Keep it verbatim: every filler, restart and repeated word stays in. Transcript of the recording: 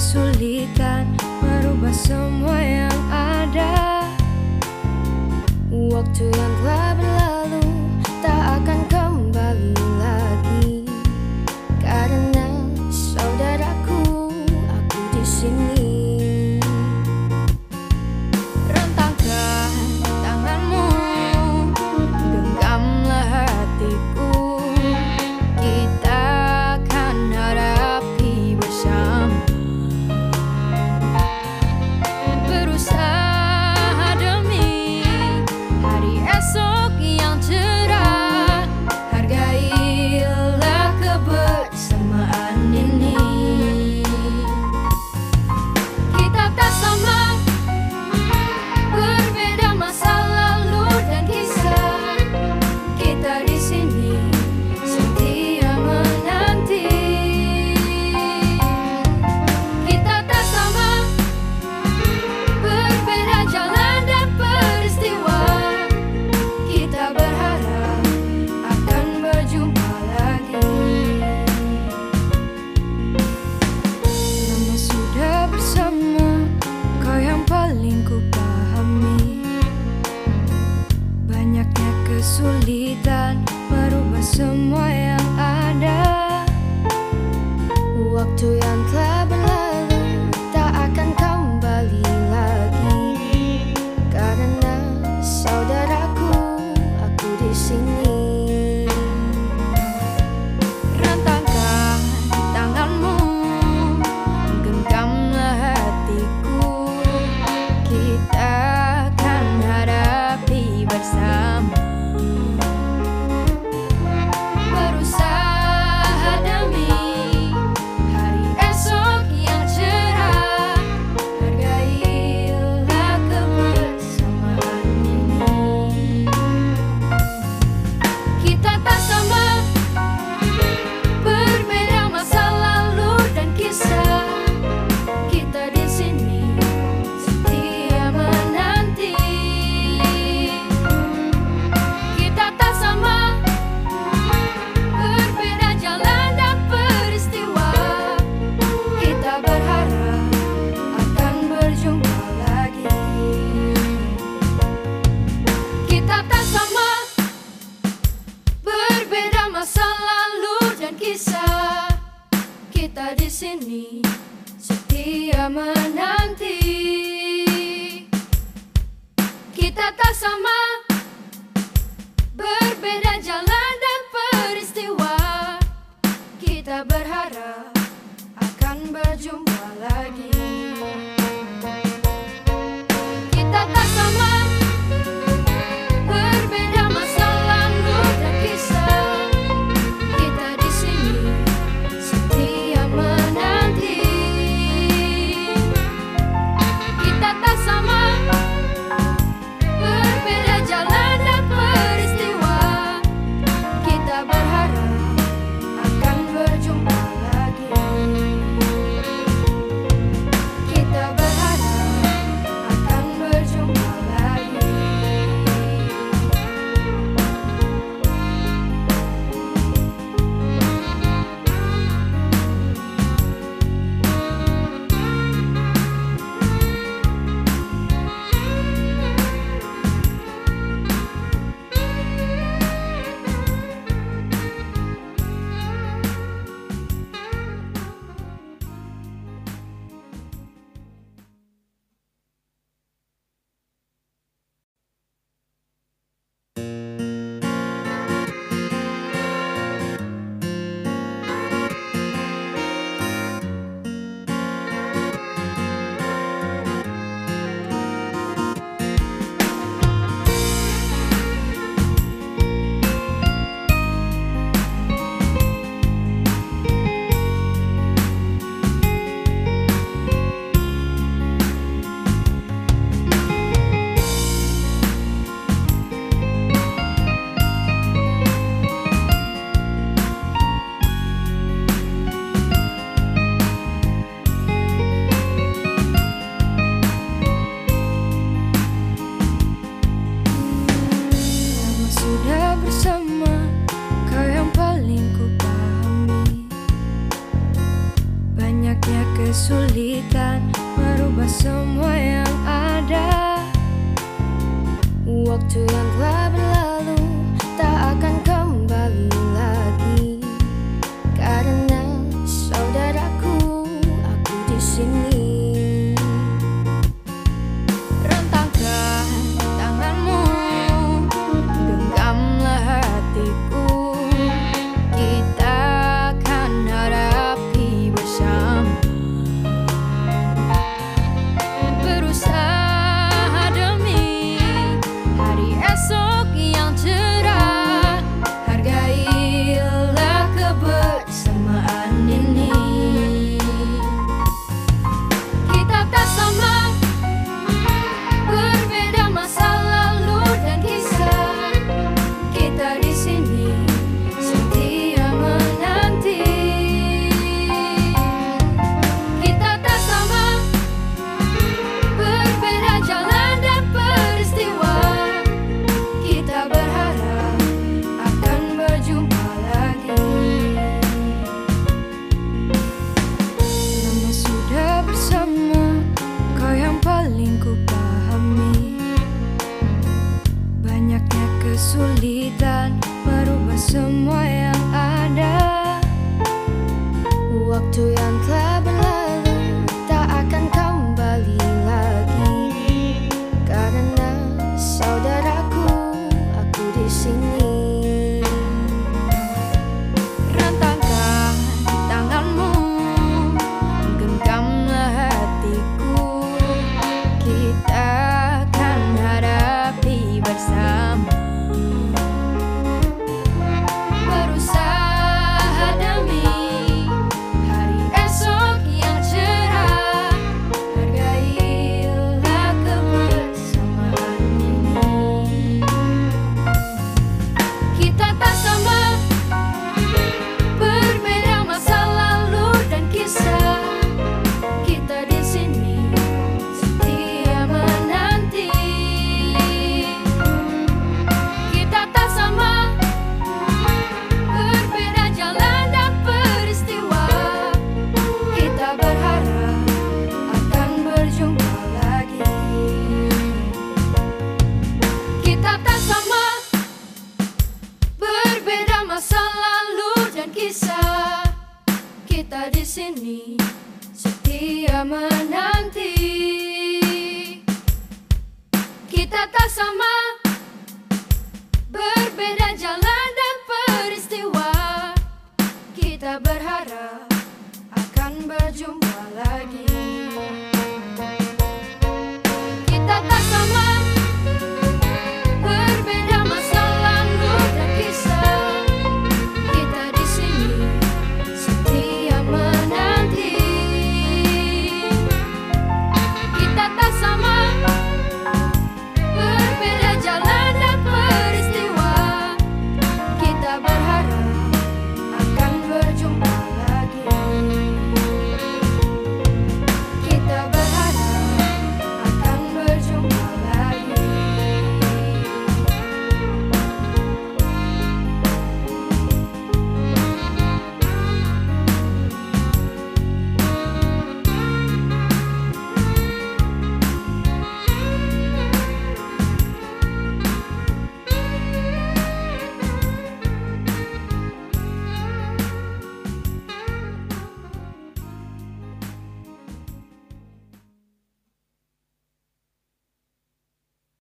kesulitan merubah semua yang ada. Waktu yang telah berlalu tak akan kembali lagi. Karena saudaraku, aku di sini. Rentangkan tanganmu, genggamlah hatiku. Kita akan hadapi bersama. Berusaha demi hari esok yang cerah. Hargailah kebersamaan ini. Kita tak sama, berbeda masa lalu dan kisah. Kita di sini setia menanti. Kita tak sama, berbeda jalan dan peristiwa. Kita berharap akan berjumpa lagi. Lama sudah bersama, kau yang paling ku pahami. Banyaknya kesulitan merubah semua yang ada. Waktu yang telah berlalu tak akan kembali lagi. Karena saudaraku, aku di sini. Rentangkan tanganmu, genggamlah hatiku. Kita akan hadapi bersama. Berusaha demi hari esok yang cerah. Hargailah kebersamaan ini. Kita tak sama, berbeda masa lalu dan kisah. Kita di sini setia menanti. Kita tak sama, berbeda jalan dan peristiwa. Kita berharap akan berjumpa lagi. Kita tak sama, berbeda masa lalu dan kisah. Kita di sini setia menanti. Kita tak sama, berbeda jalan dan peristiwa. Kita berharap akan berjumpa lagi. Kita tak sama, berbeda masa lalu dan kisah. Kita di sini setia menanti. Kita tak sama, berbeda jalan dan peristiwa. Kita berharap akan berjumpa lagi. kesulitan merubah semua yang ada. Waktu yang telah berlalu tak akan kembali lagi, karena saudaraku, aku di sini. Rentangkan tanganmu, genggamlah hatiku, kita akan hadapi bersama. Berusaha demi hari esok yang cerah, hargailah kebersamaan ini. Kita tak sama, berbeda masa lalu dan kisah. Kita di sini setia menanti. Kita tak sama, berbeda jalan dan peristiwa. Kita berharap akan berjumpa lagi. Lama sudah bersama, kau yang paling ku pahami. Banyaknya kesulitan merubah semua yang ada. Waktu yang telah berlalu tak akan kembali lagi, karena saudaraku, aku di sini. Rentangkan tanganmu, genggamlah hatiku, kita akan hadapi bersama. Berusaha demi hari esok yang cerah, hargailah kebersamaan ini. Kita tak sama, berbeda masa lalu dan kisah. Kita di sini setia menanti. Kita tak sama, berbeda jalan dan peristiwa. Kita berharap akan berjumpa lagi. Kita tak sama, berbeda masa lalu dan kisah. Kita di sini setia menanti. Kita tak sama,